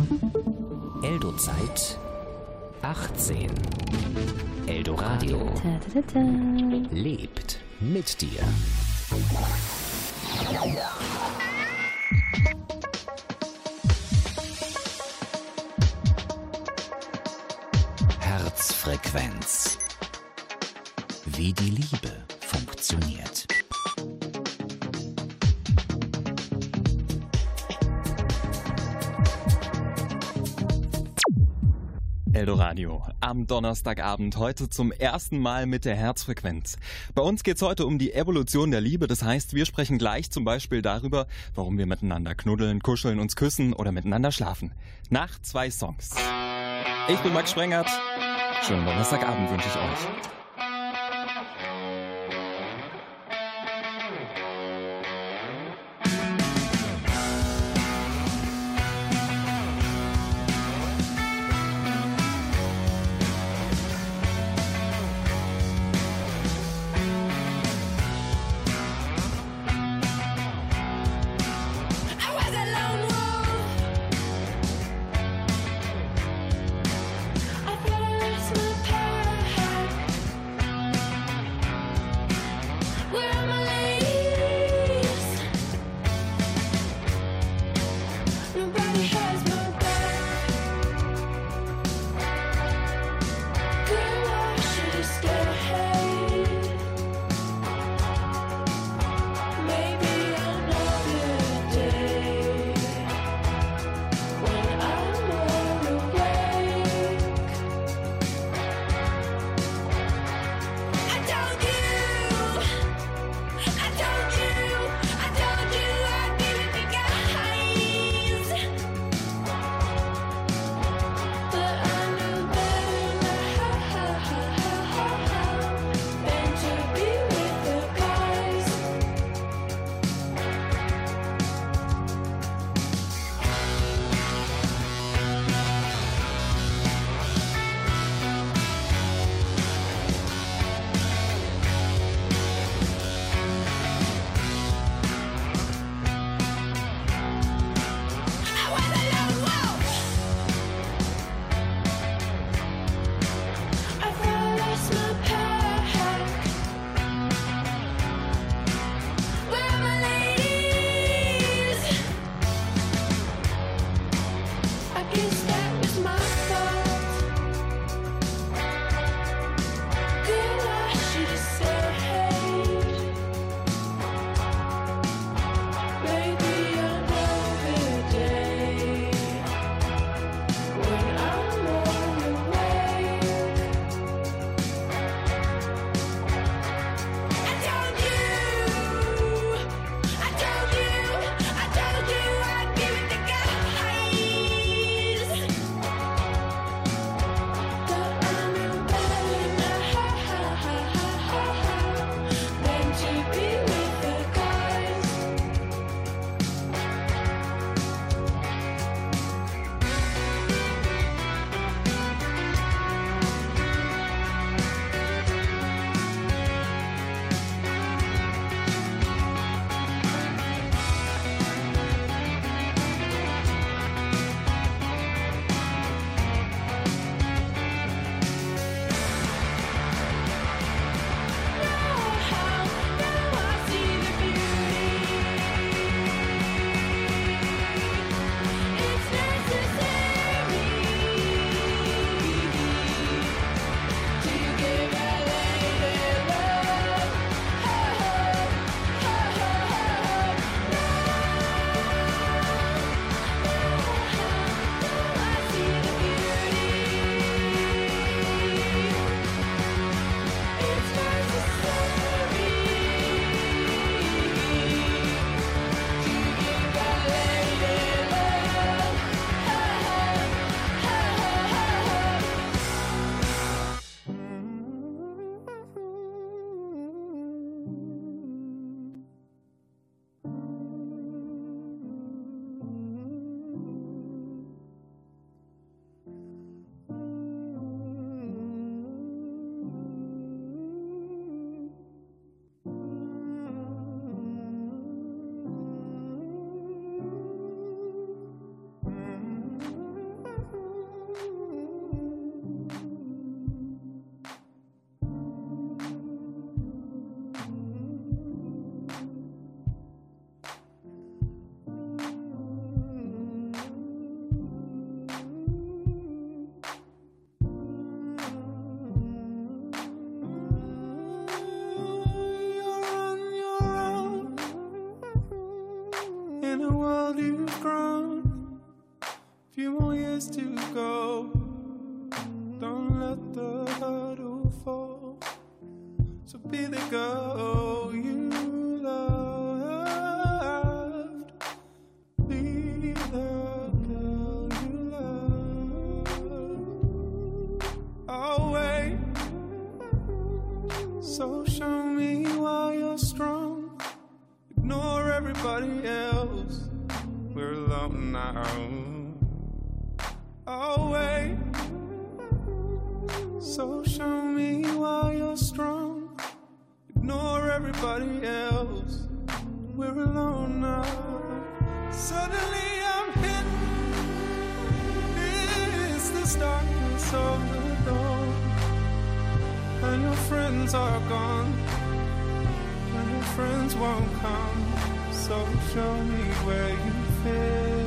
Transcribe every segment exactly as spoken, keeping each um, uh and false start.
Eldo-Zeit achtzehn. Eldoradio lebt mit dir. Herzfrequenz. Wie die Liebe funktioniert. Eldoradio am Donnerstagabend, heute zum ersten Mal mit der Herzfrequenz. Bei uns geht's heute um die Evolution der Liebe. Das heißt, wir sprechen gleich zum Beispiel darüber, warum wir miteinander knuddeln, kuscheln, uns küssen oder miteinander schlafen. Nach zwei Songs. Ich bin Max Sprengert. Schönen Donnerstagabend wünsche ich euch. In a world you've grown, few more years to go. Don't let the hurdle fall. So be the girl you loved. Be the girl you love. I'll wait. So show me why you're strong. Ignore everybody else. We're alone now. I'll wait. So show me why you're strong. Ignore everybody else. We're alone now. Suddenly I'm hit. It's the darkness of the dawn. And your friends are gone. And your friends won't come. So show me where you fit.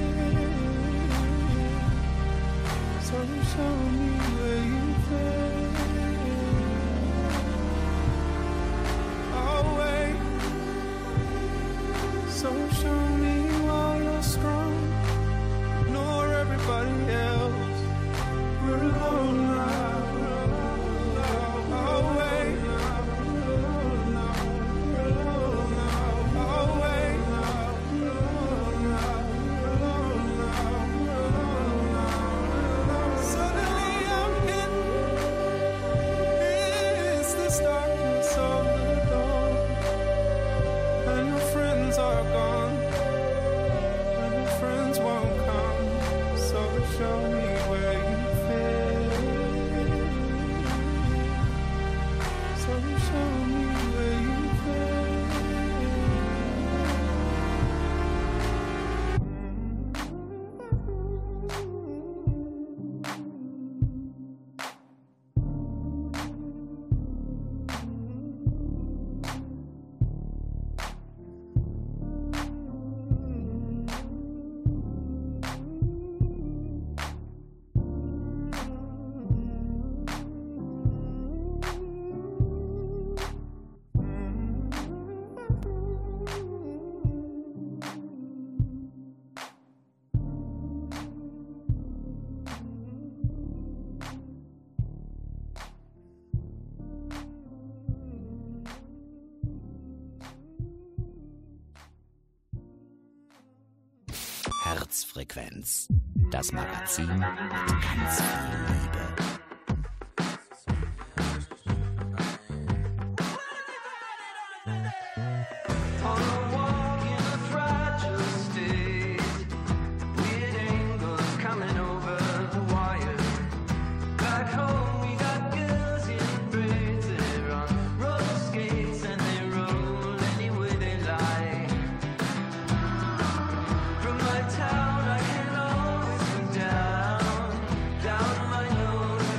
So show me where you fit. I'll wait. So show me why you're strong. Ignore everybody else. We're alone now. I'll wait. I'll wait. Suddenly I'm hit. It's this darkness of the dawn. And your friends are gone. And your friends won't come. So show me where you fit. So show me where you Herzfrequenz, das Magazin mit ganz viel Liebe. Town, I can always be down, down my nose.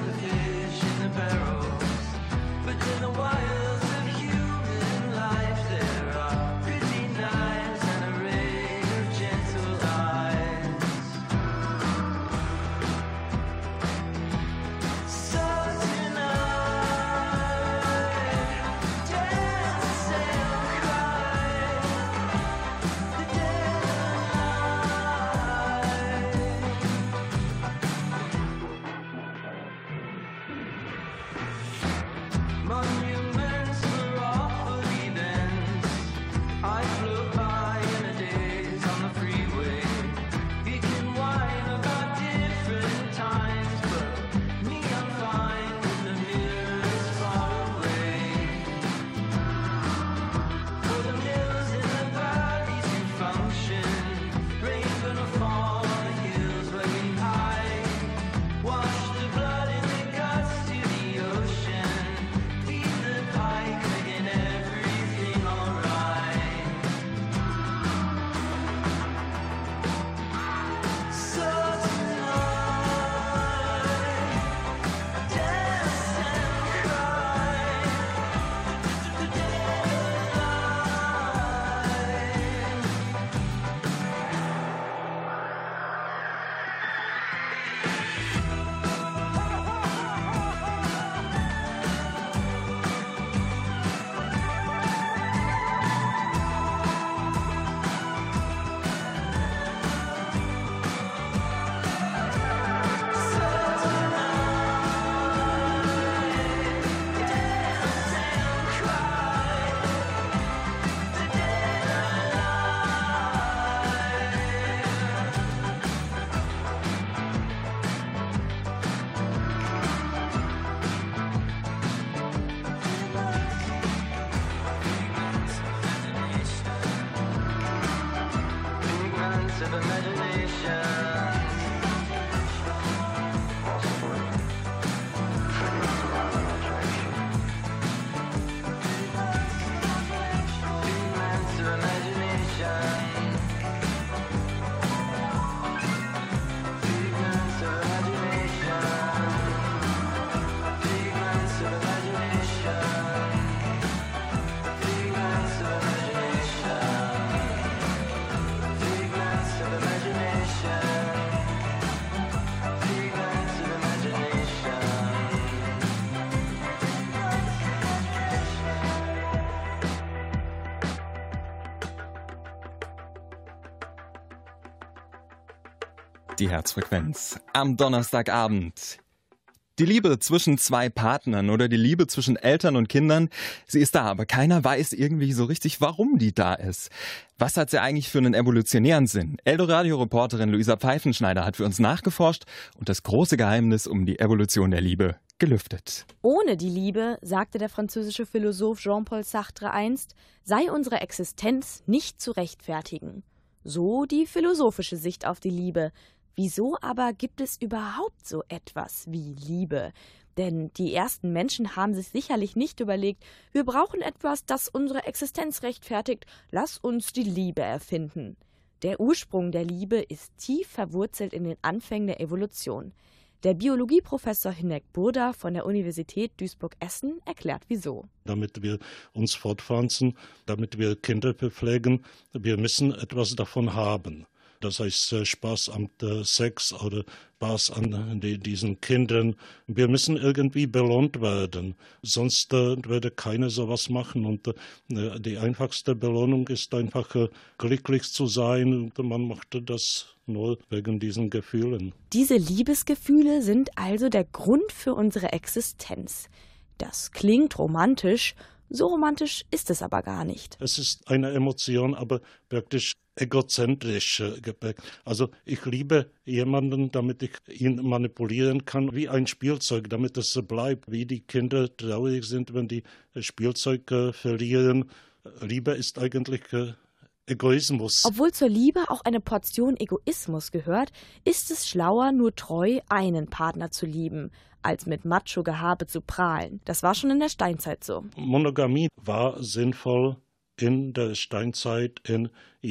Die Herzfrequenz am Donnerstagabend. Die Liebe zwischen zwei Partnern oder die Liebe zwischen Eltern und Kindern, sie ist da, aber keiner weiß irgendwie so richtig, warum die da ist. Was hat sie eigentlich für einen evolutionären Sinn? Eldoradio-Reporterin Luisa Pfeifenschneider hat für uns nachgeforscht und das große Geheimnis um die Evolution der Liebe gelüftet. Ohne die Liebe, sagte der französische Philosoph Jean-Paul Sartre einst, sei unsere Existenz nicht zu rechtfertigen. So die philosophische Sicht auf die Liebe. Wieso aber gibt es überhaupt so etwas wie Liebe? Denn die ersten Menschen haben sich sicherlich nicht überlegt, wir brauchen etwas, das unsere Existenz rechtfertigt, lass uns die Liebe erfinden. Der Ursprung der Liebe ist tief verwurzelt in den Anfängen der Evolution. Der Biologieprofessor Hinek Burda von der Universität Duisburg-Essen erklärt wieso. Damit wir uns fortpflanzen, damit wir Kinder bepflegen, wir müssen etwas davon haben. Das heißt Spaß am Sex oder Spaß an diesen Kindern. Wir müssen irgendwie belohnt werden, sonst würde keiner sowas machen. Und die einfachste Belohnung ist einfach glücklich zu sein. Und man macht das nur wegen diesen Gefühlen. Diese Liebesgefühle sind also der Grund für unsere Existenz. Das klingt romantisch, so romantisch ist es aber gar nicht. Es ist eine Emotion, aber praktisch egozentrisch geprägt. Also ich liebe jemanden, damit ich ihn manipulieren kann, wie ein Spielzeug, damit es bleibt, wie die Kinder traurig sind, wenn die Spielzeug äh, verlieren. Liebe ist eigentlich äh, Egoismus. Obwohl zur Liebe auch eine Portion Egoismus gehört, ist es schlauer, nur treu einen Partner zu lieben, als mit Macho-Gehabe zu prahlen. Das war schon in der Steinzeit so. Monogamie war sinnvoll in der Steinzeit in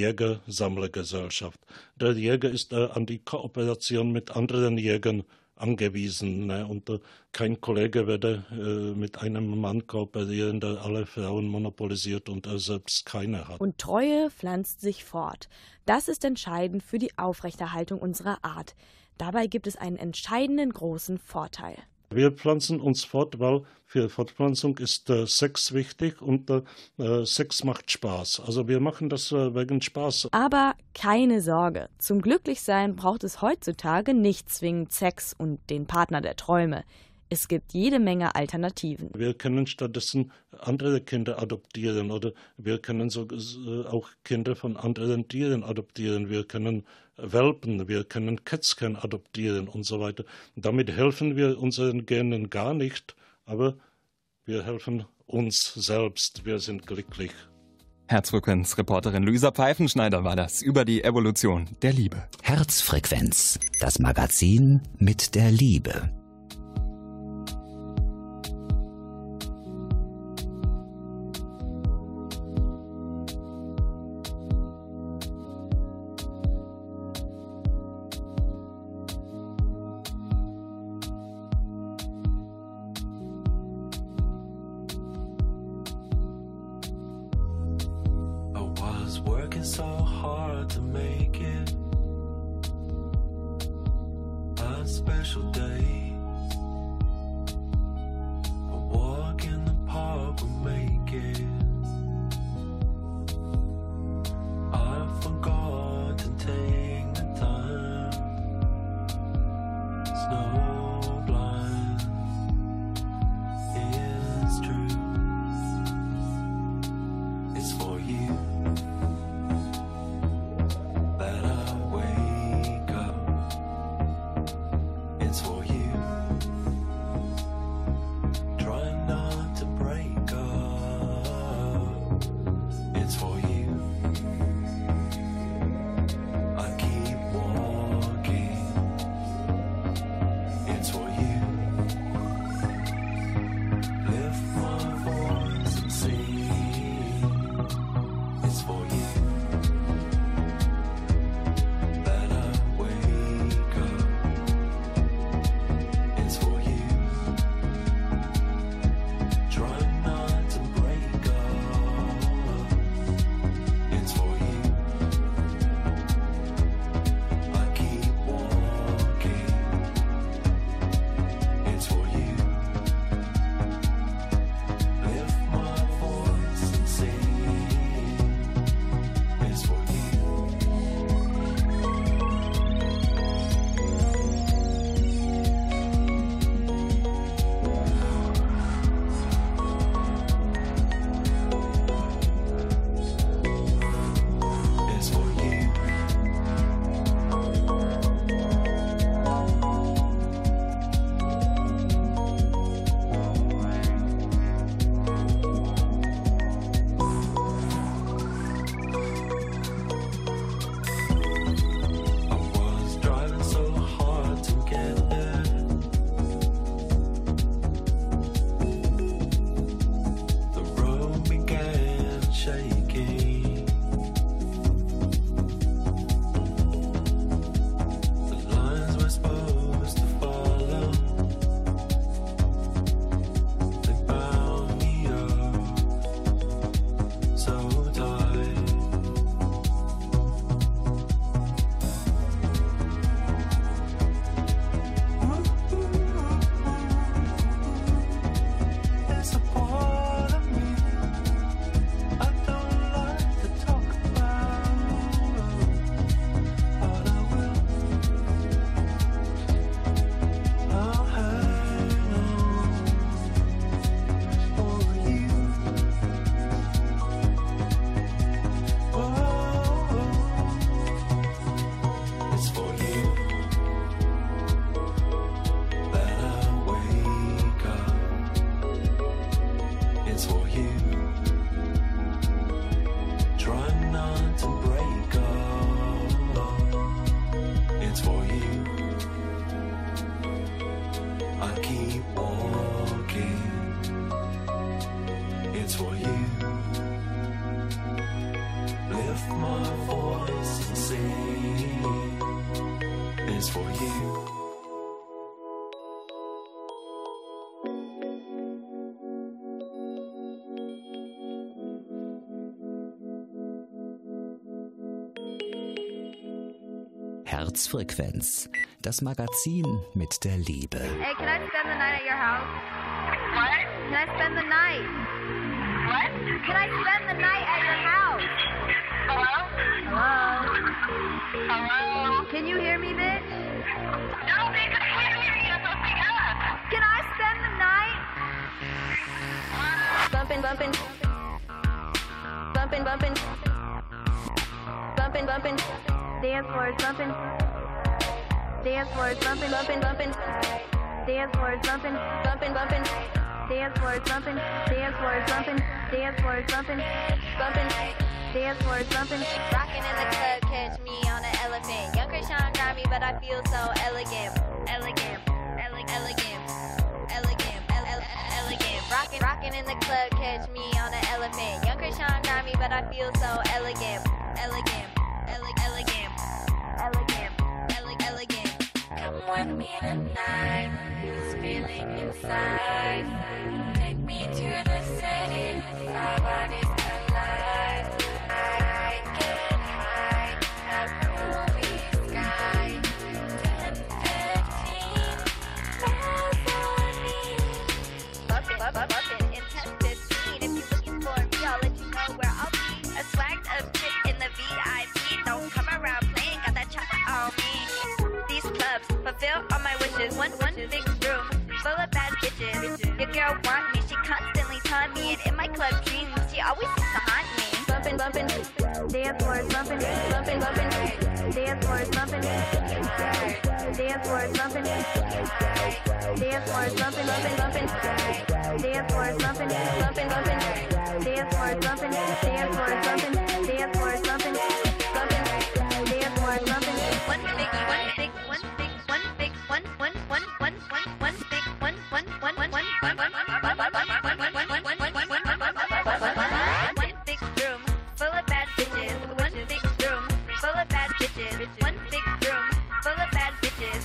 Jäger-Sammlergesellschaft. Der Jäger ist äh, an die Kooperation mit anderen Jägern angewiesen. Ne? Und äh, kein Kollege werde äh, mit einem Mann kooperieren, der alle Frauen monopolisiert und er selbst keine hat. Und Treue pflanzt sich fort. Das ist entscheidend für die Aufrechterhaltung unserer Art. Dabei gibt es einen entscheidenden großen Vorteil. Wir pflanzen uns fort, weil für Fortpflanzung ist äh, Sex wichtig und äh, Sex macht Spaß. Also wir machen das äh, wegen Spaß. Aber keine Sorge, zum Glücklichsein braucht es heutzutage nicht zwingend Sex und den Partner der Träume. Es gibt jede Menge Alternativen. Wir können stattdessen andere Kinder adoptieren oder wir können so, äh, auch Kinder von anderen Tieren adoptieren. Wir können Welpen, wir können Kätzchen adoptieren und so weiter. Damit helfen wir unseren Genen gar nicht, aber wir helfen uns selbst. Wir sind glücklich. Herzfrequenz-Reporterin Luisa Pfeifenschneider war das über die Evolution der Liebe. Herzfrequenz, das Magazin mit der Liebe. For you. is for you. Herzfrequenz, das Magazin mit der Liebe. Hey, can I spend the night at your house? What? Can I spend the night? What? Can I spend the night at your house? Hello? Hello? Hello? Can you hear me, bitch? No, bitch, I can't hear you. Something up. Can I spend the night? Bumpin', bumpin'. Bumpin', bumpin'. Bumpin', bumpin'. Dance floor is bumpin'. Dance floor is bumpin', bumpin', bumpin'. Dance floor is bumpin', bumpin', bumpin'. Dance floor is bumpin'. Dance floor is bumpin'. Dance floor is bumpin', bumpin'. Dance floor is bumpin'. Rockin' in the club, catch me on an elephant. Young Krishan got me, but I feel so elegant, elegant, elegant, elegant, elegant, elegant. Rockin', rockin' in the club, catch me on an elephant. Young Krishan got me, but I feel so elegant, elegant, elegant, elegant, elegant, elegant. Come with me tonight, this feeling inside. Take me to the city, our bodies collide. I get high, at movie sky. ten, fifteen, Vaseline. Bumpin', bumpin', bumpin', intense fifteen. If you're looking for me, I'll let you know where I'll be. A swagged up chick in the V I P. Don't come around playing, got that chopper on me. These clubs fulfill all my wishes. One, one big room full of bad bitches. Your girl want me, she constantly taunt me. And in my club dreams, she always seems to haunt me. Bumpin', bumpin', dance floor is bumpin', bumpin', bumpin'. Dance floor is bumpin', dance floor is bumpin', dance floor is bumpin', bumpin', bumpin'. Dance floor is bumpin', bumpin', bumpin'. Dance floor is bumpin', dance floor is bumpin', dance floor is bumpin', bumpin'. Dance floor is bumpin'. One big, one big, one big, one big, one, one, one, one, one, one big, one, one, one, one, one, one, one, one, one, one, one big room full of bad bitches. One big room full of bad bitches. One big room full of bad bitches.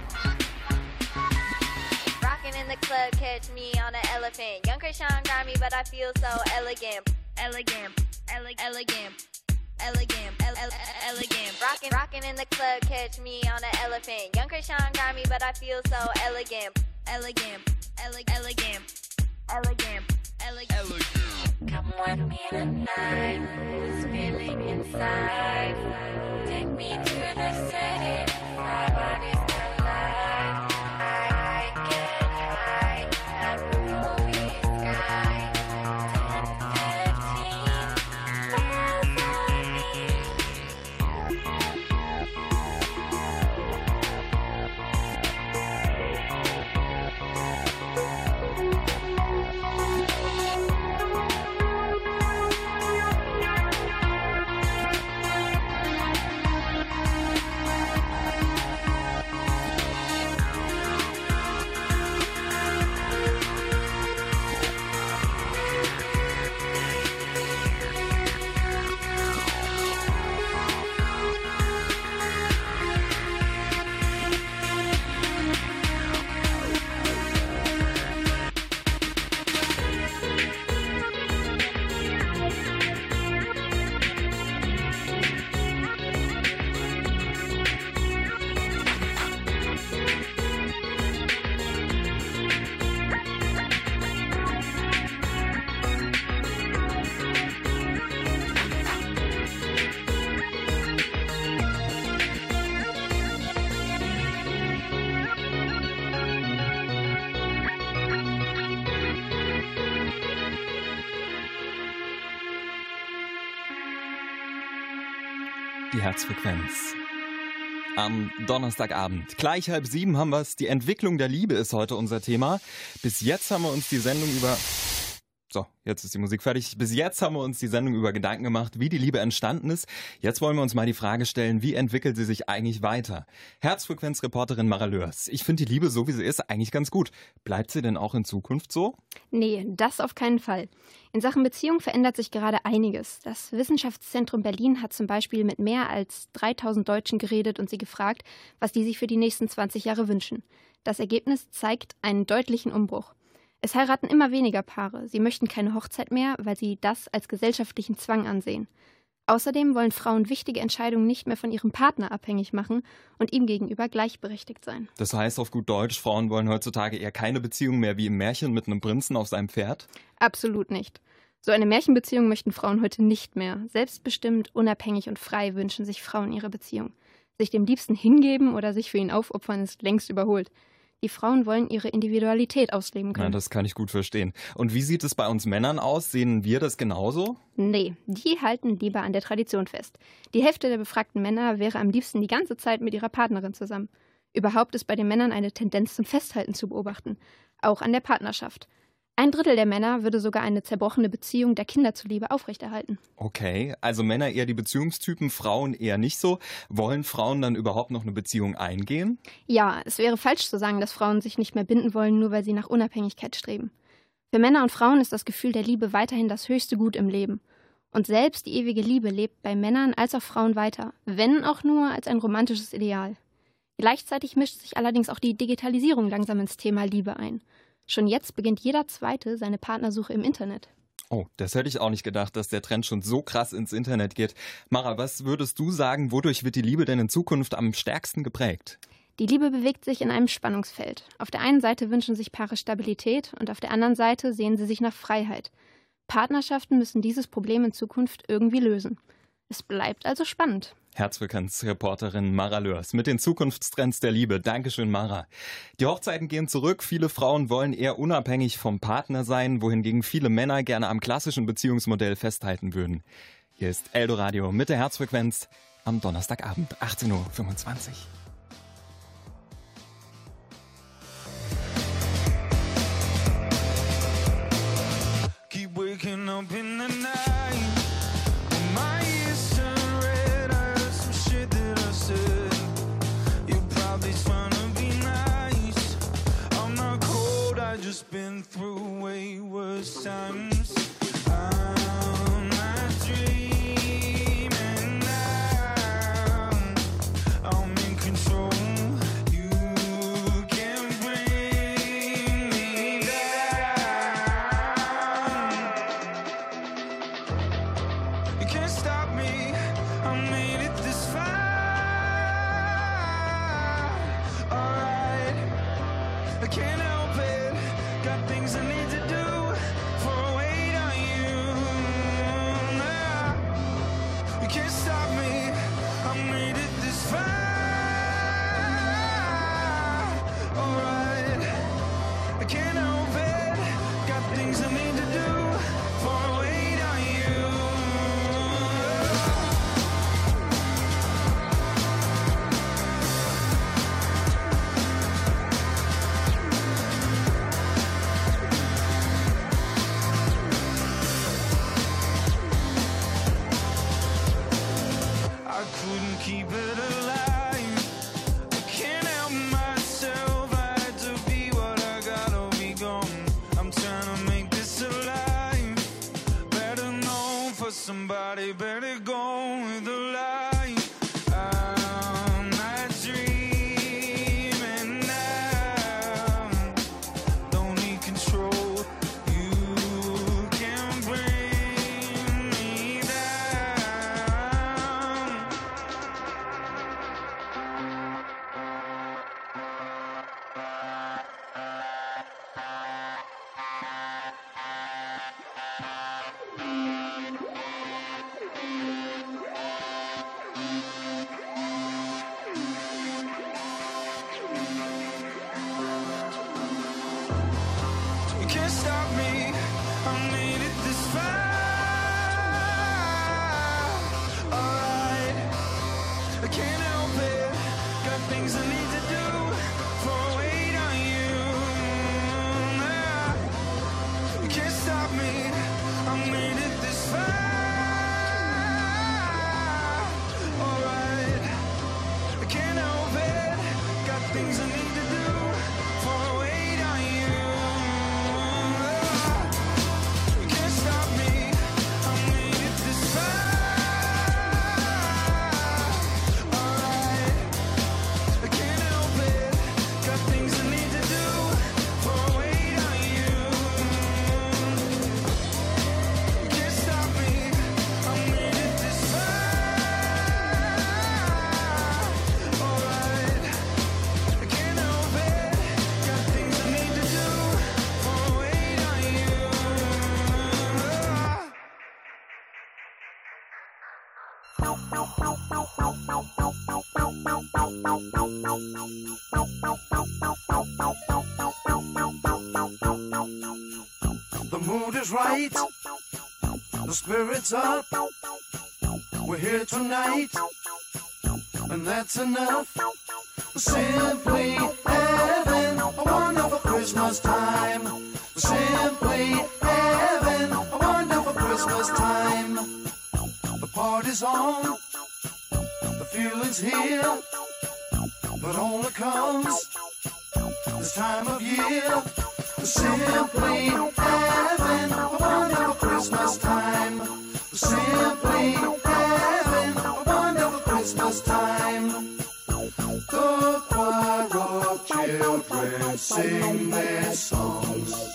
Rockin' in the club, catch me on an elephant. Young Krishan got me, but I feel so elegant, elegant, elegant, elegant. Elegant, ele- ele- elegant. Rockin', rockin' in the club, catch me on an elephant. Young Krishan got me, but I feel so elegant, elegant, ele- elegant, elegant, elegant, elegant. Come with me tonight, this feeling inside. Take me to the city, our bodies collide. I get high, at movie sky. ten, fifteen, Die Herzfrequenz. Am Donnerstagabend. Gleich halb sieben haben wir es. Die Entwicklung der Liebe ist heute unser Thema. Bis jetzt haben wir uns die Sendung über So, jetzt ist die Musik fertig. Bis jetzt haben wir uns die Sendung über Gedanken gemacht, wie die Liebe entstanden ist. Jetzt wollen wir uns mal die Frage stellen, wie entwickelt sie sich eigentlich weiter? Herzfrequenzreporterin Mara Lörs. Ich finde die Liebe, so wie sie ist, eigentlich ganz gut. Bleibt sie denn auch in Zukunft so? Nee, das auf keinen Fall. In Sachen Beziehung verändert sich gerade einiges. Das Wissenschaftszentrum Berlin hat zum Beispiel mit mehr als dreitausend Deutschen geredet und sie gefragt, was die sich für die nächsten zwanzig Jahre wünschen. Das Ergebnis zeigt einen deutlichen Umbruch. Es heiraten immer weniger Paare. Sie möchten keine Hochzeit mehr, weil sie das als gesellschaftlichen Zwang ansehen. Außerdem wollen Frauen wichtige Entscheidungen nicht mehr von ihrem Partner abhängig machen und ihm gegenüber gleichberechtigt sein. Das heißt auf gut Deutsch, Frauen wollen heutzutage eher keine Beziehung mehr wie im Märchen mit einem Prinzen auf seinem Pferd? Absolut nicht. So eine Märchenbeziehung möchten Frauen heute nicht mehr. Selbstbestimmt, unabhängig und frei wünschen sich Frauen ihre Beziehung. Sich dem Liebsten hingeben oder sich für ihn aufopfern ist längst überholt. Die Frauen wollen ihre Individualität ausleben können. Ja, das kann ich gut verstehen. Und wie sieht es bei uns Männern aus? Sehen wir das genauso? Nee, die halten lieber an der Tradition fest. Die Hälfte der befragten Männer wäre am liebsten die ganze Zeit mit ihrer Partnerin zusammen. Überhaupt ist bei den Männern eine Tendenz zum Festhalten zu beobachten, auch an der Partnerschaft. Ein Drittel der Männer würde sogar eine zerbrochene Beziehung der Kinder zuliebe aufrechterhalten. Okay, also Männer eher die Beziehungstypen, Frauen eher nicht so. Wollen Frauen dann überhaupt noch eine Beziehung eingehen? Ja, es wäre falsch zu sagen, dass Frauen sich nicht mehr binden wollen, nur weil sie nach Unabhängigkeit streben. Für Männer und Frauen ist das Gefühl der Liebe weiterhin das höchste Gut im Leben. Und selbst die ewige Liebe lebt bei Männern als auch Frauen weiter, wenn auch nur als ein romantisches Ideal. Gleichzeitig mischt sich allerdings auch die Digitalisierung langsam ins Thema Liebe ein. Schon jetzt beginnt jeder Zweite seine Partnersuche im Internet. Oh, das hätte ich auch nicht gedacht, dass der Trend schon so krass ins Internet geht. Mara, was würdest du sagen, wodurch wird die Liebe denn in Zukunft am stärksten geprägt? Die Liebe bewegt sich in einem Spannungsfeld. Auf der einen Seite wünschen sich Paare Stabilität und auf der anderen Seite sehen sie sich nach Freiheit. Partnerschaften müssen dieses Problem in Zukunft irgendwie lösen. Es bleibt also spannend. Herzfrequenzreporterin Mara Lörs mit den Zukunftstrends der Liebe. Dankeschön, Mara. Die Hochzeiten gehen zurück. Viele Frauen wollen eher unabhängig vom Partner sein, wohingegen viele Männer gerne am klassischen Beziehungsmodell festhalten würden. Hier ist Eldoradio mit der Herzfrequenz am Donnerstagabend, achtzehn Uhr fünfundzwanzig. Keep waking up in the night. My ears turn red. I heard some shit that I said. You're probably trying to be nice. I'm not cold. I just been through way worse times. I'm not dreaming now. I'm in control. You can bring me down. You can't stop me. I made it this far. Alright, I can't help it. Got things I need to do for a wait on you. Nah, you can't stop me. I made it this far. Alright, I can't help it. Got things I need to do for a wait on you. I couldn't keep it alive. I can't help myself. I had to be what I gotta be gone. I'm trying to make this alive. Better known for somebody. Better go with the light. I'm not dreaming now. Don't need control. You can bring me down. You can't stop me. I made it this far. Alright, I can't help it. Got things I need to do for a wait on you. Nah, you can't stop me. The mood is right, the spirit's up. We're here tonight, and that's enough. Simply having a wonderful Christmas time. Simply having a wonderful Christmas time. The party's on, the feeling's here, but only comes this time of year. Simply having a wonderful Christmas time. Simply having a wonderful Christmas time. The choir of children sing their songs.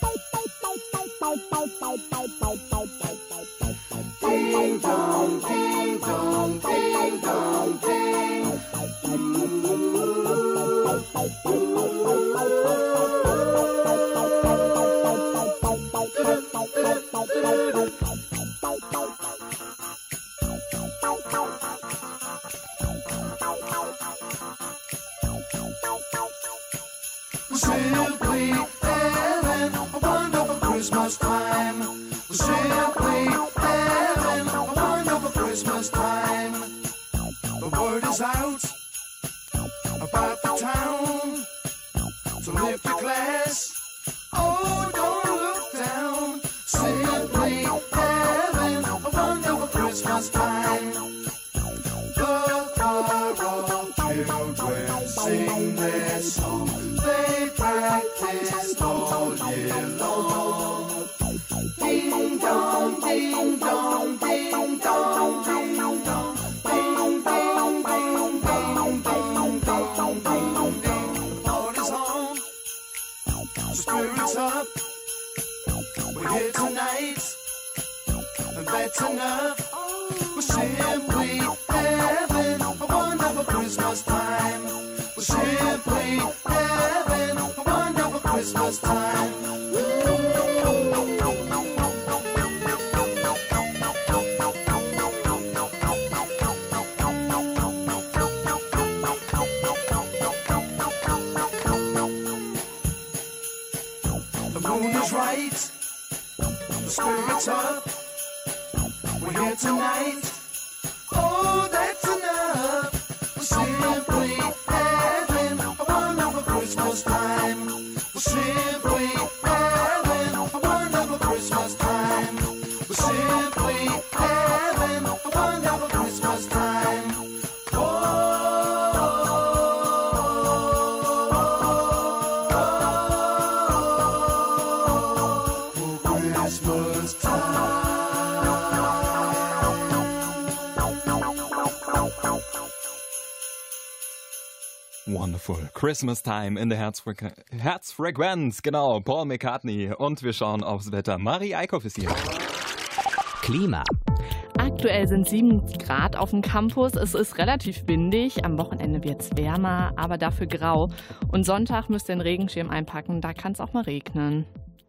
Ding dong, ding dong, ding dong, ding. Simply having a wonderful Christmas time. Simply having a wonderful Christmas time. The word is out about the town, so lift your glass. Oh, don't look down. Simply having a wonderful Christmas time. The choir of children sing their song. They practiced all year long. Ding dong, ding dong, ding dong, ding dong. Ding, ding, ding, ding, ding, ding, ding, ding. The party's on, the spirit's up. We're here tonight, and that's enough. We're simply having a wonderful Christmas time. We're simply having a wonderful Christmas time. The moon is right, the spirit's up. We're here tonight. Oh, that's enough. We're simply having a wonderful Christmas time. We're simply having a wonderful Christmas time. We're simply having a wonderful Christmas time. Wonderful. Christmas Time in der Herzfrequ- Herzfrequenz. Genau, Paul McCartney. Und wir schauen aufs Wetter. Marie Eickhoff ist hier. Klima. Aktuell sind sieben Grad auf dem Campus. Es ist relativ windig. Am Wochenende wird es wärmer, aber dafür grau. Und Sonntag müsst ihr den Regenschirm einpacken. Da kann es auch mal regnen.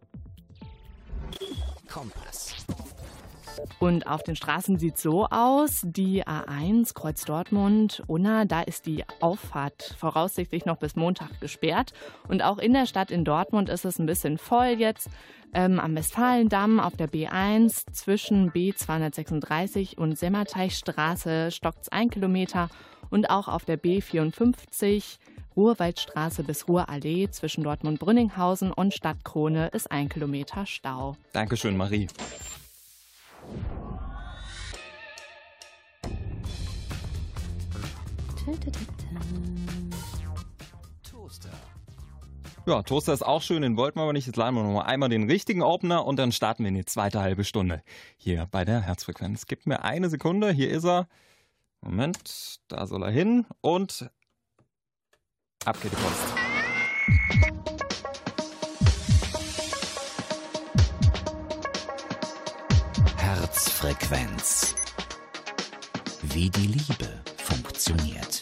Kompass. Und auf den Straßen sieht es so aus, die A eins, Kreuz Dortmund, Unna, da ist die Auffahrt voraussichtlich noch bis Montag gesperrt. Und auch in der Stadt in Dortmund ist es ein bisschen voll jetzt. Ähm, am Westfalendamm auf der B eins zwischen B zweihundertsechsunddreißig und Semmerteichstraße stockt es ein Kilometer. Und auch auf der B vierundfünfzig Ruhrwaldstraße bis Ruhrallee zwischen Dortmund-Brünninghausen und Stadtkrone ist ein Kilometer Stau. Dankeschön, Marie. Toaster. Ja, Toaster ist auch schön, den wollten wir aber nicht. Jetzt laden wir noch mal einmal den richtigen Opener und dann starten wir in die zweite halbe Stunde hier bei der Herzfrequenz. Gibt mir eine Sekunde, hier ist er. Moment, da soll er hin und ab geht die Post. Herzfrequenz. Wie die Liebe funktioniert.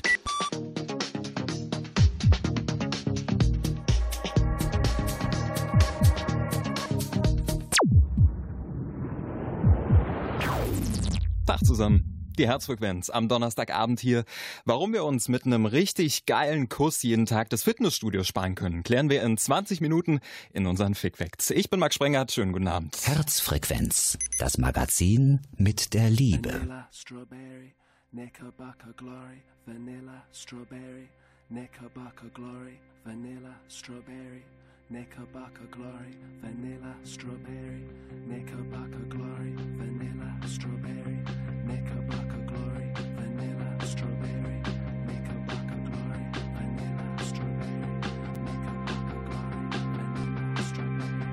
Tag zusammen. Die Herzfrequenz am Donnerstagabend hier. Warum wir uns mit einem richtig geilen Kuss jeden Tag das Fitnessstudio sparen können, klären wir in zwanzig Minuten in unseren Fick-Facts. Ich bin Max Sprengert, schönen guten Abend. Herzfrequenz, das Magazin mit der Liebe. Vanilla, strawberry, Knickerbocker glory, vanilla, strawberry, Knickerbocker glory, vanilla, strawberry, Knickerbocker glory, vanilla, strawberry, Knickerbocker glory, vanilla, strawberry, Knickerbocker glory, vanilla, strawberry, Knickerbocker glory, vanilla, strawberry, Knickerbocker glory, vanilla, strawberry.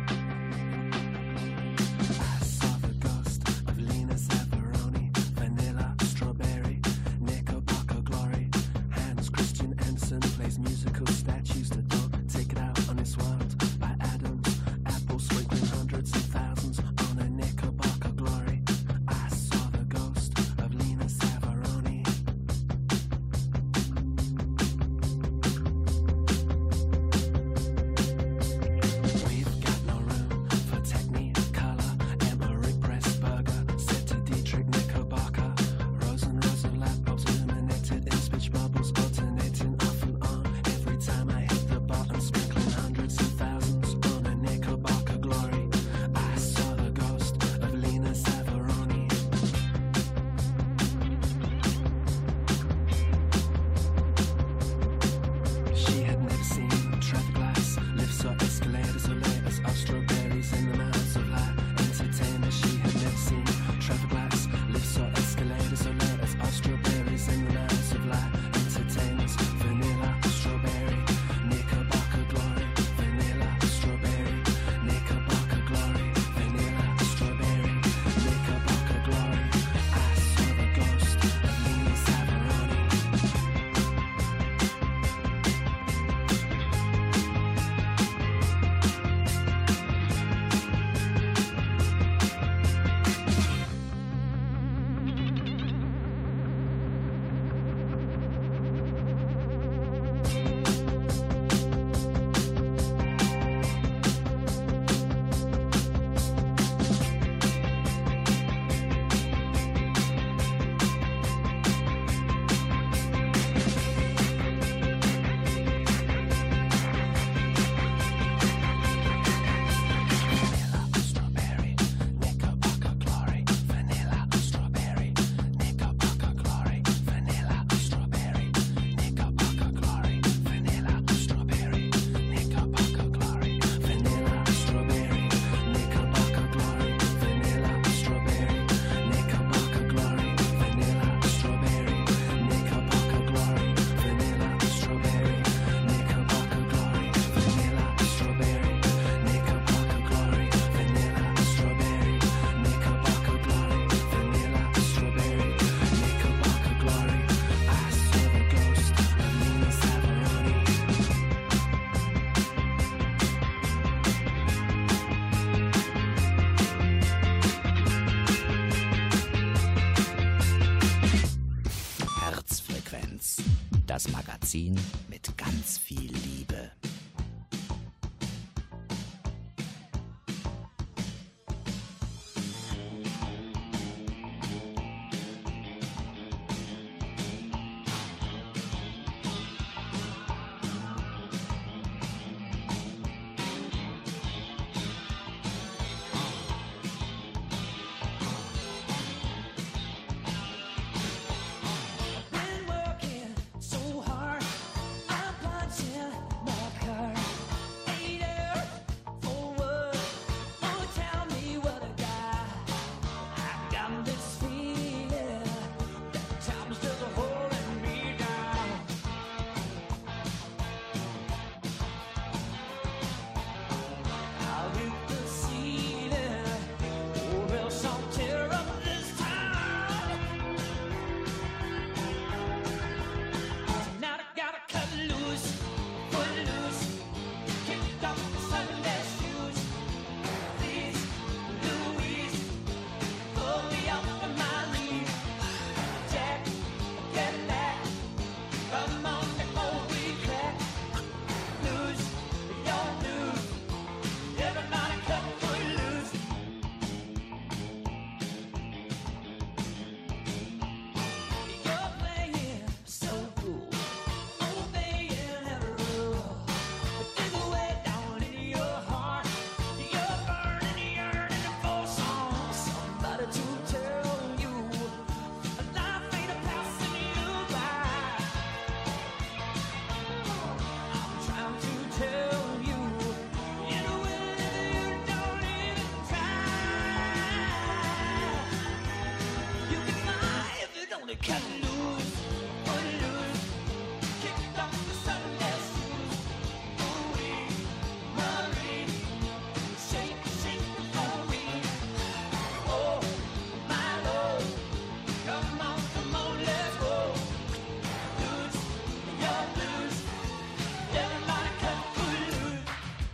I saw the ghost of Lena Zaffaroni, vanilla, strawberry, Knickerbocker glory. Hans Christian Andersen plays musical statues that don't take it out on this world. By Adams, Apple sprinkling hundreds and thousands on a Knickerbocker glory. I saw the ghost of Lena Zaffaroni. We've got no room for Technicolor. Emery Pressburger said to Dietrich Knickerbocker. Rose and rows of light bulbs illuminated in speech bubbles, alternating off and on. Every time I hit the button, sprinkling hundreds and thousands on a Knickerbocker glory. I saw the ghost of Lena Zaffaroni. She had never seen traffic lights, lifts or escalators or layers of strawberries in the mouths of light entertainers. She had never seen traffic lights, lifts or escalators or layers of strawberries in the mouths of light entertainers. Vanilla, strawberry, Knickerbocker glory, vanilla, strawberry, Knickerbocker glory, vanilla, strawberry, Knickerbocker glory. I saw the ghost of Lena Zaffaroni. Vanilla, strawberry, Knickerbocker glory, vanilla, strawberry, Knickerbocker glory, vanilla, strawberry, Knickerbocker glory, vanilla, strawberry, Knickerbocker glory, vanilla, strawberry, Knickerbocker glory, vanilla, strawberry, Knickerbocker glory, vanilla, strawberry, Knickerbocker glory, vanilla, strawberry, Knickerbocker glory, vanilla, strawberry, Knickerbocker glory, vanilla, strawberry, Knickerbocker glory, vanilla, strawberry, Knickerbocker glory. I saw the ghost of Lena Zaffaroni. Herzfrequenz, das Magazin mit ganz viel Liebe. Been working so hard, I'm punching my cut loose, put it loose, kicked off the Sunday shoes. Ooh-wee, Marie, shake, shake the Marie. Oh, my Lord, come on, come on, let's go. Loose, you're loose, everybody cut foot loose.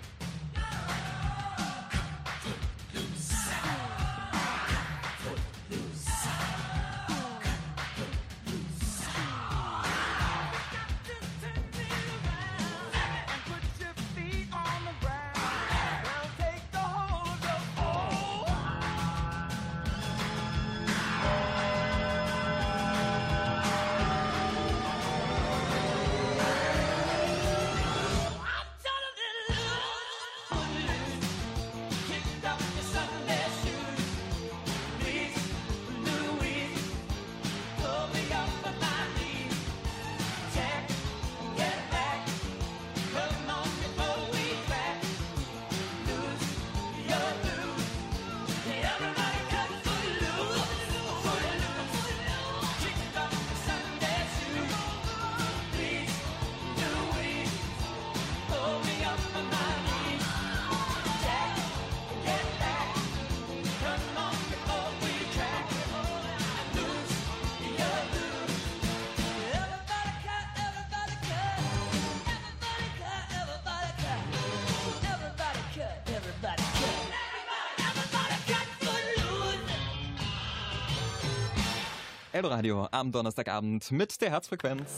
Eldoradio am Donnerstagabend mit der Herzfrequenz.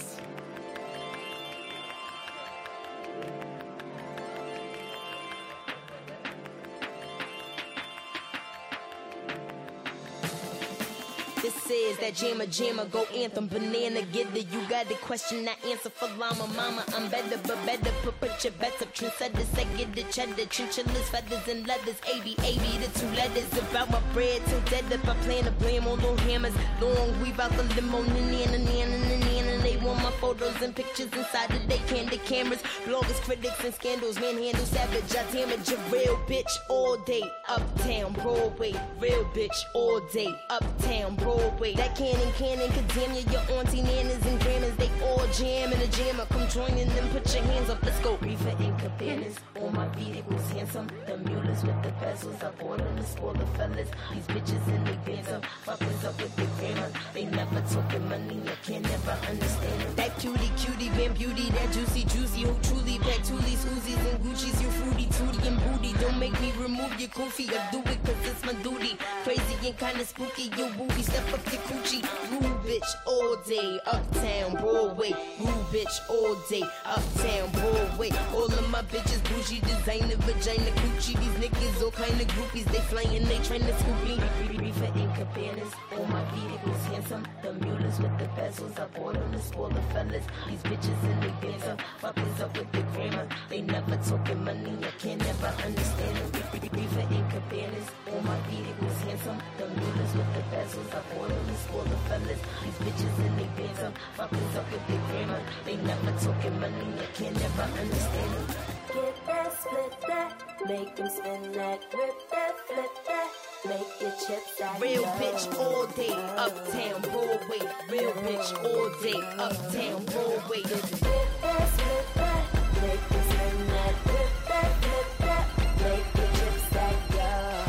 This is that jammer jammer go anthem banana getter. You got the question, I answer for llama mama. I'm better but better put, put your bets up. Trendsetters, I get the cheddar, chinchillas, feathers and leathers. A B A B the two letters about my bread till dead up. I plan to blame on no hammers. Long weave out the limo, nana nana nana. They want my photos and pictures inside of they candid cameras. Bloggers, critics and scandals, manhandle savage. I damage a real bitch all day. Uptown Broadway, real bitch all day. Uptown Broadway. That cannon, cannon, could damn you, your auntie, nanas, and grandmas. They all jam in a jammer. Come join in them, put your hands up, let's go. Reefer and cabanas, all my vehicles handsome. The mules with the bezels, I bought them to spoil the fellas. These bitches in they bands up, fuckers up with their grammar. They never talking money, I can never understand them. That cutie, cutie, van beauty, that juicy, juicy, who truly pack toolies, Uzis, and Gucci's, you fruity, tootie, and booty. Don't make me remove your goofy, I do it cause it's my duty. Crazy and kinda spooky, your booty, step up your coochie. Rude bitch all day, uptown Broadway. Rude bitch all day, uptown Broadway. All of my bitches bougie, designer, vagina, coochie. These niggas all kind of groupies, they flying, they tryna scoop me. Reefer and cabanas, all my vehicles handsome. The mules with the bezels, I bought them to spoil the fellas. These bitches in they bands up, fuckers up with the grammar. They never talking money, I can never understand them. Reefer and cabanas, all my vehicles handsome. The mules with the bezels, I bought them to spoil the fellas. These bitches in they bands up, fuckers up with the grammar. They never talking money, I can never understand them. Get that, split that, make them spin that, rip that, flip that, make your chips that. Real bitch all day, uptown Broadway. Real bitch all day, uptown Broadway. Get that, split that, make them spin that, rip that, flip that, make your chips that, yo.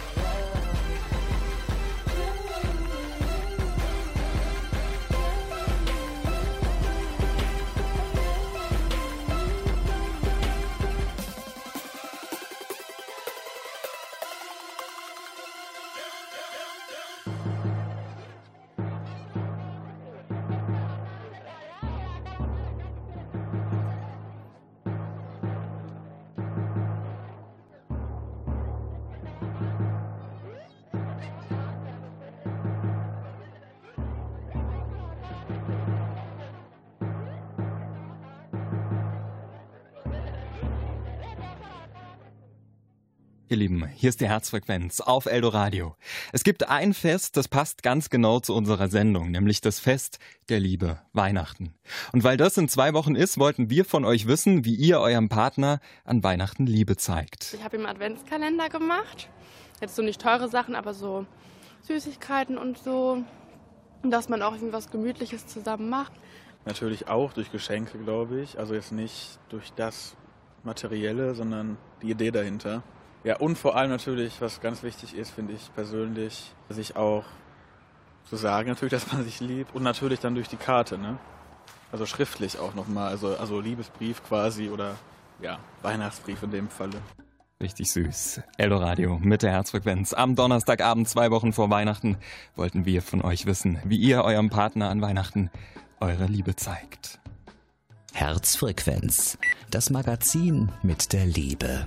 Ihr Lieben, hier ist die Herzfrequenz auf Eldoradio. Es gibt ein Fest, das passt ganz genau zu unserer Sendung, nämlich das Fest der Liebe, Weihnachten. Und weil das in zwei Wochen ist, wollten wir von euch wissen, wie ihr eurem Partner an Weihnachten Liebe zeigt. Ich habe ihm einen Adventskalender gemacht. Jetzt so nicht teure Sachen, aber so Süßigkeiten und so. dass man auch irgendwas Gemütliches zusammen macht. Natürlich auch durch Geschenke, glaube ich. Also jetzt nicht durch das Materielle, sondern die Idee dahinter. Ja, und vor allem natürlich, was ganz wichtig ist, finde ich persönlich, sich auch zu sagen, natürlich, dass man sich liebt. Und natürlich dann durch die Karte, ne? Also schriftlich auch nochmal, also, also Liebesbrief quasi oder ja, Weihnachtsbrief in dem Falle. Richtig süß. Eldoradio mit der Herzfrequenz. Am Donnerstagabend, zwei Wochen vor Weihnachten, wollten wir von euch wissen, wie ihr eurem Partner an Weihnachten eure Liebe zeigt. Herzfrequenz, das Magazin mit der Liebe.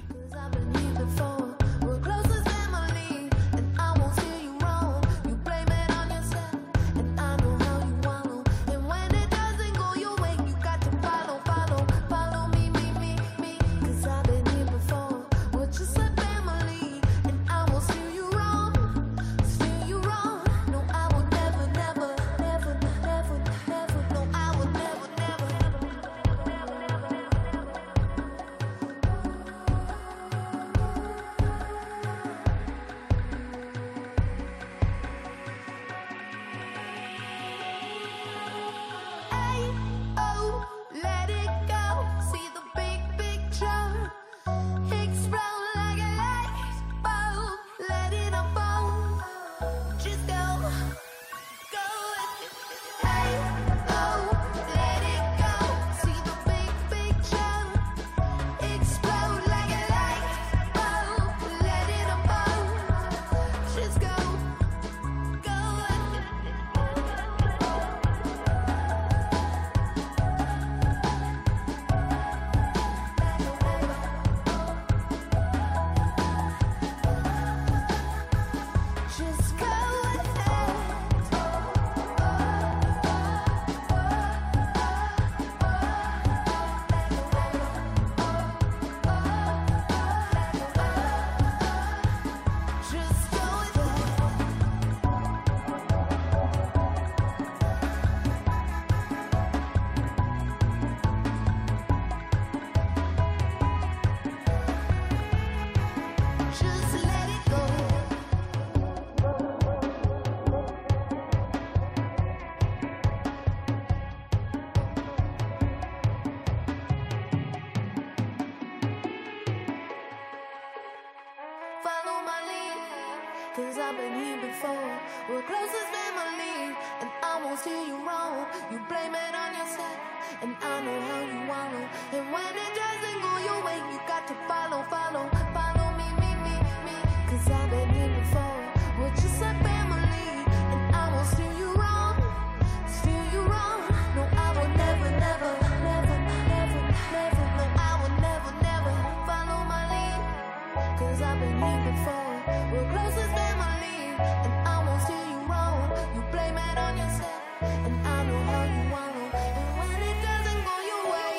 Cause I've been here before. We're close as family, and I won't steer you wrong. You blame it on yourself, and I know how you wallow. And when it doesn't go your way, you got to follow, follow, follow me, me, me, me. Cause I've been here before. We're just like family, and I won't steer you wrong, steer you wrong. No, I will never, never, never, never, never. No, I will never, never follow my lead. Cause I've been here before. We're close as family, and I won't steer you wrong. You blame it on yourself, and I know how you wallow. And when it doesn't go your way,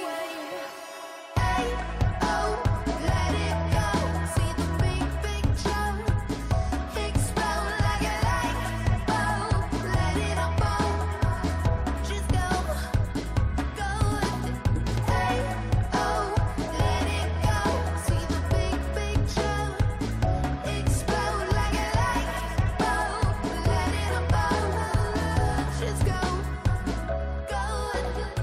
hey, oh, let it go. See the big picture, explode like a light bulb. Let it unfold, just go, go with it. Hey, oh, let it go. See the big picture. Explode like a light bulb, let it unfold. Just go, go with it.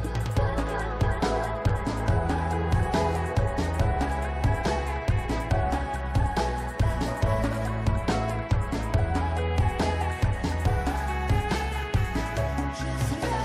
Just go.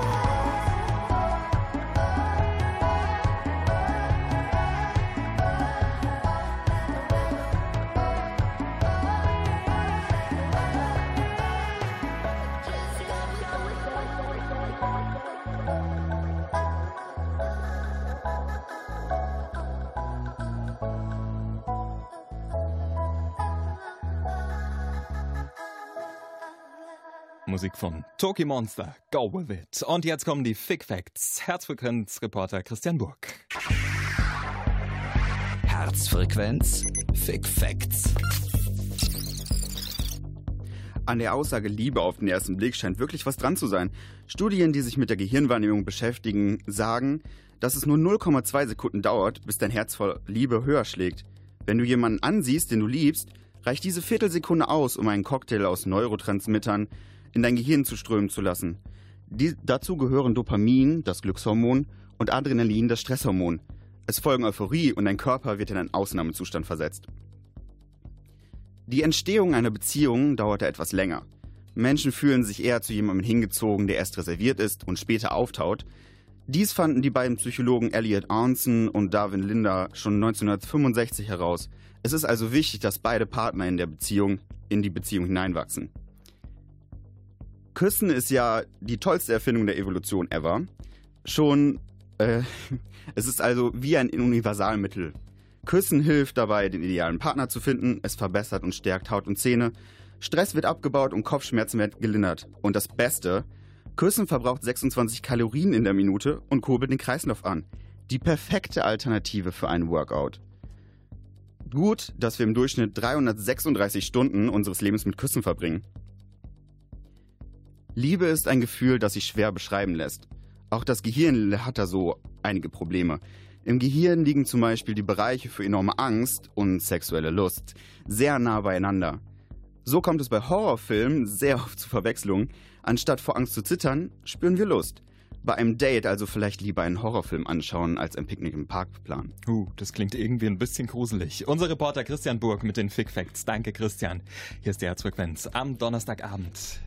Musik von Toki Monster, Go With It. Und jetzt kommen die Fick Facts. Herzfrequenz-Reporter Christian Burg. Herzfrequenz Fick Facts. An der Aussage Liebe auf den ersten Blick scheint wirklich was dran zu sein. Studien, die sich mit der Gehirnwahrnehmung beschäftigen, sagen, dass es nur null Komma zwei Sekunden dauert, bis dein Herz vor Liebe höher schlägt. Wenn du jemanden ansiehst, den du liebst, reicht diese Viertelsekunde aus, um einen Cocktail aus Neurotransmittern, in dein Gehirn zu strömen zu lassen. Die, dazu gehören Dopamin, das Glückshormon, und Adrenalin, das Stresshormon. Es folgen Euphorie und dein Körper wird in einen Ausnahmezustand versetzt. Die Entstehung einer Beziehung dauerte etwas länger. Menschen fühlen sich eher zu jemandem hingezogen, der erst reserviert ist und später auftaut. Dies fanden die beiden Psychologen Elliot Arnson und Darwin Linder schon neunzehnhundertfünfundsechzig heraus. Es ist also wichtig, dass beide Partner in der Beziehung in die Beziehung hineinwachsen. Küssen ist ja die tollste Erfindung der Evolution ever. Schon, äh, es ist also wie ein Universalmittel. Küssen hilft dabei, den idealen Partner zu finden. Es verbessert und stärkt Haut und Zähne. Stress wird abgebaut und Kopfschmerzen werden gelindert. Und das Beste, Küssen verbraucht sechsundzwanzig Kalorien in der Minute und kurbelt den Kreislauf an. Die perfekte Alternative für einen Workout. Gut, dass wir im Durchschnitt dreihundertsechsunddreißig Stunden unseres Lebens mit Küssen verbringen. Liebe ist ein Gefühl, das sich schwer beschreiben lässt. Auch das Gehirn hat da so einige Probleme. Im Gehirn liegen zum Beispiel die Bereiche für enorme Angst und sexuelle Lust sehr nah beieinander. So kommt es bei Horrorfilmen sehr oft zu Verwechslungen. Anstatt vor Angst zu zittern, spüren wir Lust. Bei einem Date also vielleicht lieber einen Horrorfilm anschauen, als ein Picknick im Park planen. Uh, das klingt irgendwie ein bisschen gruselig. Unser Reporter Christian Burg mit den Fick Facts. Danke, Christian. Hier ist die Herzfrequenz am Donnerstagabend.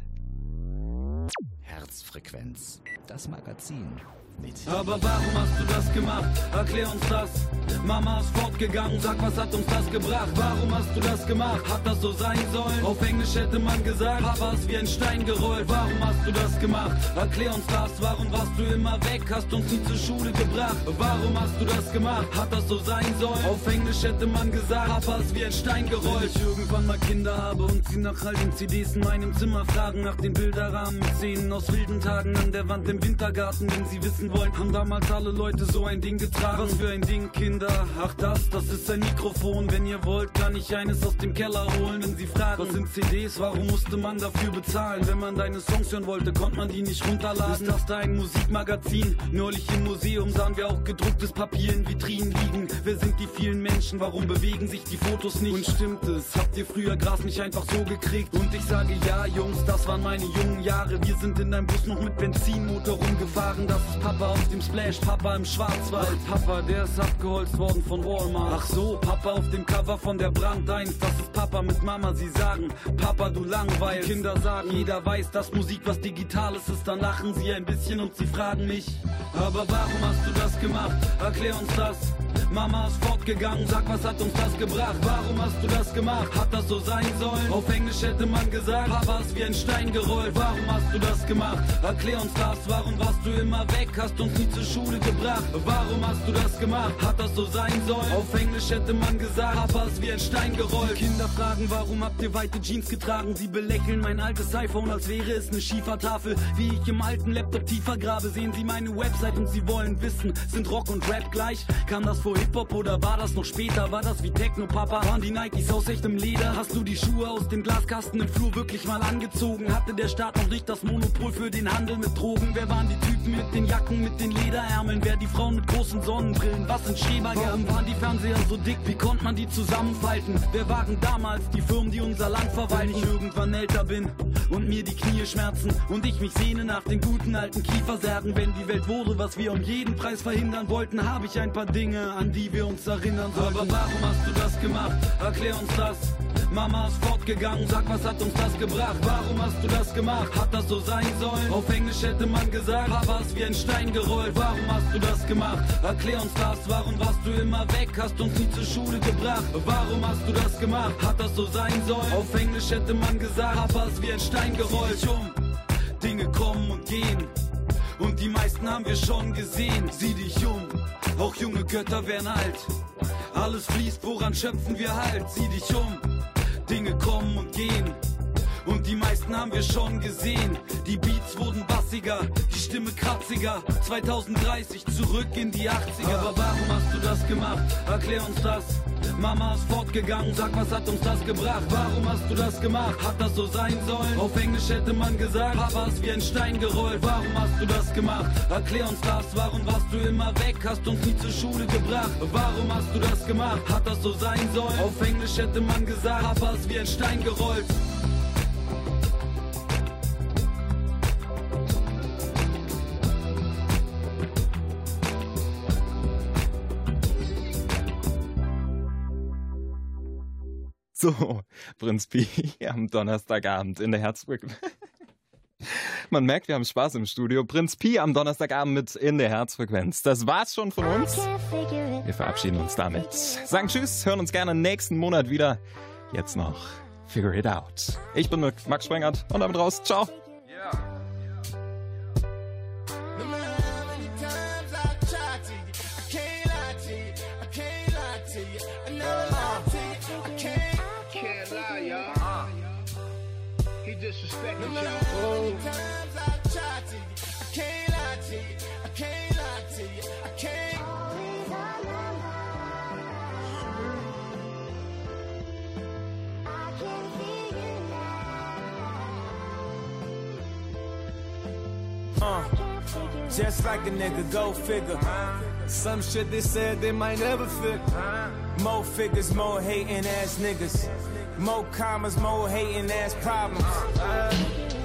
Herzfrequenz, das Magazin. Mit Aber warum hast du das gemacht? Erklär uns das. Mama ist fortgegangen, sag, was hat uns das gebracht? Warum hast du das gemacht? Hat das so sein sollen? Auf Englisch hätte man gesagt, Papa ist wie ein Stein gerollt. Warum hast du das gemacht? Erklär uns das. Warum warst du immer weg? Hast uns nie zur Schule gebracht. Warum hast du das gemacht? Hat das so sein sollen? Auf Englisch hätte man gesagt, Papa ist wie ein Stein gerollt. Wenn ich irgendwann mal Kinder habe und sie nach all den C Ds in meinem Zimmer fragen, nach den Bilderrahmen mit Szenen aus wilden Tagen an der Wand im Wintergarten, wenn sie wissen wollen, haben damals alle Leute so ein Ding getragen. Was für ein Ding, Kinder? Ach das, das ist ein Mikrofon. Wenn ihr wollt, kann ich eines aus dem Keller holen. Wenn sie fragen, was sind C Ds? Warum musste man dafür bezahlen? Wenn man deine Songs hören wollte, konnte man die nicht runterladen. Ist das da ein Musikmagazin? Neulich im Museum sahen wir auch gedrucktes Papier in Vitrinen liegen. Wer sind die vielen Menschen? Warum bewegen sich die Fotos nicht? Und stimmt es? Habt ihr früher Gras nicht einfach so gekriegt? Und ich sage ja, Jungs, das waren meine jungen Jahre. Wir sind in einem Bus noch mit Benzinmotor rumgefahren. Das ist Papa auf dem Splash, Papa im Schwarzwald. Papa, der ist abgeholzt worden von Walmart. Ach so, Papa auf dem Cover von der Brand eins. Das ist Papa mit Mama, sie sagen, Papa, du langweilst. Die Kinder sagen, jeder weiß, dass Musik was Digitales ist. Dann lachen sie ein bisschen und sie fragen mich, aber warum hast du das gemacht? Erklär uns das. Mama ist fortgegangen, sag, was hat uns das gebracht? Warum hast du das gemacht? Hat das so sein sollen? Auf Englisch hätte man gesagt, Papa ist wie ein Stein gerollt. Warum hast du das gemacht? Erklär uns das. Warum warst du immer weg? Hast uns nie zur Schule gebracht. Warum hast du das gemacht? Hat das so sein sollen? Auf Englisch hätte man gesagt, Papa ist wie ein Stein gerollt. Kinder fragen, warum habt ihr weite Jeans getragen? Sie belächeln mein altes iPhone, als wäre es eine Schiefertafel. Wie ich im alten Laptop tiefer grabe, sehen sie meine Website und sie wollen wissen, sind Rock und Rap gleich? Kam das vor Hip-Hop oder war das noch später? War das wie Techno, Papa? Waren die Nikes aus echtem Leder? Hast du die Schuhe aus dem Glaskasten im Flur wirklich mal angezogen? Hatte der Staat noch nicht das Monopol für den Handel mit Drogen? Wer waren die Typen mit den Jacken, mit den Lederärmeln? Wer die Frauen mit großen Sonnenbrillen? Was sind Schrebergärten? Warum waren die Fernseher so dick? Wie konnte man die zusammenfalten? Wer waren damals die Firmen, die unser Land verwalten? Wenn ich irgendwann älter bin und mir die Knie schmerzen und ich mich sehne nach den guten alten Kiefersärgen. Wenn die Welt wurde, was wir um jeden Preis verhindern wollten, habe ich ein paar Dinge, an die wir uns erinnern sollten. Aber warum hast du das gemacht? Erklär uns das. Mama ist fortgegangen, sag, was hat uns das gebracht? Warum hast du das gemacht? Hat das so sein sollen? Auf Englisch hätte man gesagt, Papa ist wie ein Stein gerollt. Warum hast du das gemacht? Erklär uns das. Warum warst du immer weg? Hast uns nie zur Schule gebracht. Warum hast du das gemacht? Hat das so sein sollen? Auf Englisch hätte man gesagt, Papa ist wie ein Stein gerollt. Sieh dich um, Dinge kommen und gehen. Und die meisten haben wir schon gesehen. Sieh dich um, auch junge Götter werden alt. Alles fließt, woran schöpfen wir Halt? Sieh dich um, Dinge kommen und gehen. Und die meisten haben wir schon gesehen. Die Beats wurden bassiger, die Stimme kratziger. zwanzig dreißig zurück in die achtziger. Aber warum hast du das gemacht? Erklär uns das. Mama ist fortgegangen, sag, was hat uns das gebracht? Warum hast du das gemacht? Hat das so sein sollen? Auf Englisch hätte man gesagt, Papa ist wie ein Stein gerollt. Warum hast du das gemacht? Erklär uns das. Warum warst du immer weg? Hast uns nie zur Schule gebracht. Warum hast du das gemacht? Hat das so sein sollen? Auf Englisch hätte man gesagt, Papa ist wie ein Stein gerollt. So, Prinz Pi am Donnerstagabend in der Herzfrequenz. Man merkt, wir haben Spaß im Studio. Prinz Pi am Donnerstagabend mit in der Herzfrequenz. Das war's schon von uns. Wir verabschieden uns damit. Sagen Tschüss, hören uns gerne nächsten Monat wieder. Jetzt noch Figure It Out. Ich bin Max Sprengert und damit raus. Ciao. Disrespecting no matter how many times I try to you, I can't lie to you, I can't lie to you, I can't. Uh, just like a nigga, go figure. Some shit they said they might never fit. More figures, more hating ass niggas. More commas, more hating ass problems. Uh,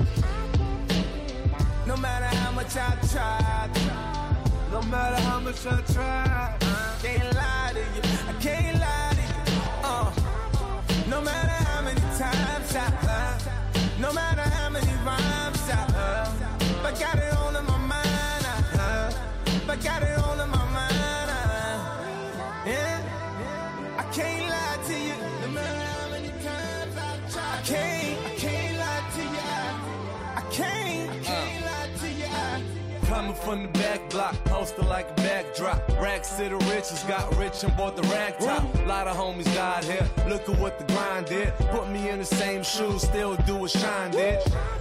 no matter how much I tried, no matter how much I tried, I can't lie to you, I can't lie to you. Uh, no matter how many times I, uh, no matter how many rhymes I, uh, but got it all in my mind, uh, but got it all in my mind. Uh, yeah, I can't lie to you. No matter how many times I try, I can't, I can't lie to you. I can't, I can't lie to you. Coming from the back block, posted like a backdrop. Racks to the riches, got rich and bought the rag top. Lot of homies died here, look at what the grind did. Put me in the same shoes, still do what Shine did.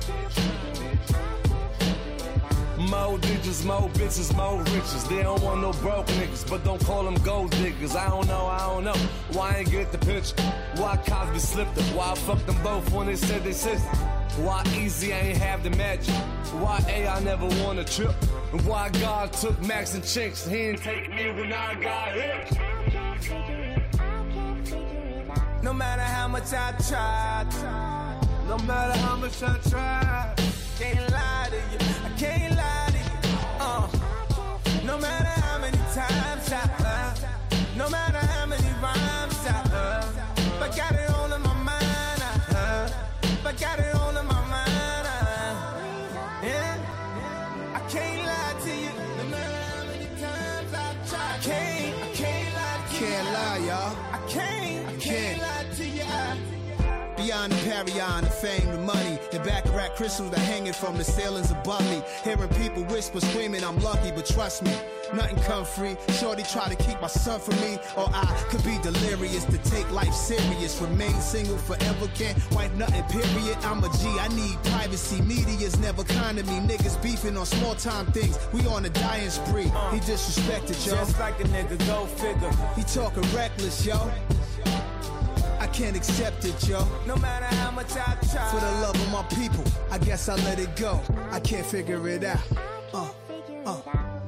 More digits, more bitches, more riches. They don't want no broke niggas, but don't call them gold diggers. I don't know, I don't know why I ain't get the picture. Why Cosby slipped it? Why I fucked them both when they said they sister? Why Easy I ain't have the magic? Why A I never won a trip? And why God took Max and Chinks? He didn't take me when I got hit. No matter how much I tried, no matter how much I tried, can't lie to you, I can't lie to you. Uh, no matter how many times I, uh, no matter how many rhymes I, uh, but got it all in my mind, uh, but got it all in my mind. Uh, yeah, I can't lie to you. No matter how many times I try, I can't, I can't lie to you. Can't lie, y'all. I can't, I can't lie to you. Beyond the Parion, the fame, the money, the Baccarat crystals that hanging from the ceilings above me. Hearing people whisper, screaming, I'm lucky, but trust me, nothing come free. Shorty try to keep my son from me, or I could be delirious to take life serious. Remain single forever, can't wipe nothing, period. I'm a G, I need privacy. Media's never kind to me. Niggas beefing on small time things. We on a dying spree. He disrespected, yo. Just like a nigga, go figure. He talking reckless, yo. I can't accept it, yo. No matter how much I try. For the love of my people, I guess I let it go. I can't figure it out. Uh, uh.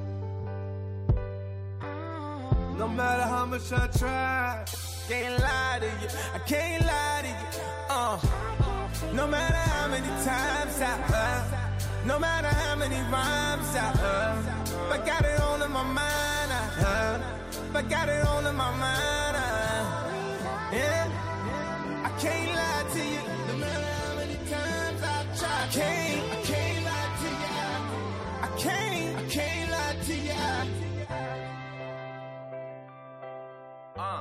No matter how much I try, can't lie to you. I can't lie to you. Uh. No matter how many times I, uh, no matter how many rhymes I, uh, but got it all in my mind. Uh, but got it all in my mind. Uh, yeah. I can't lie to you. No matter how many times I try, I can't, I can't lie to you. I can't, I can't lie to you. Uh.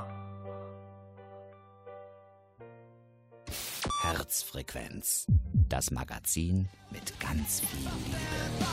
Herzfrequenz, das Magazin mit ganz viel Liebe.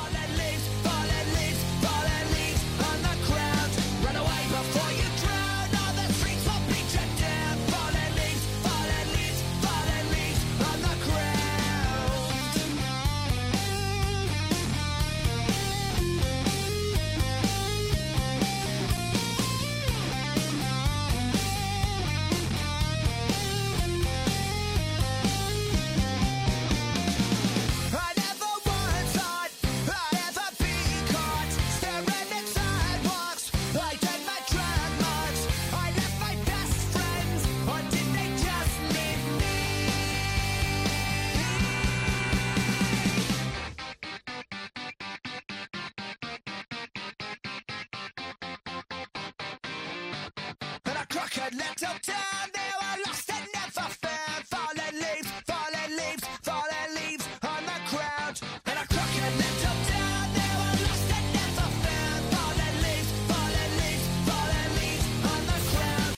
Crooked little town, they were lost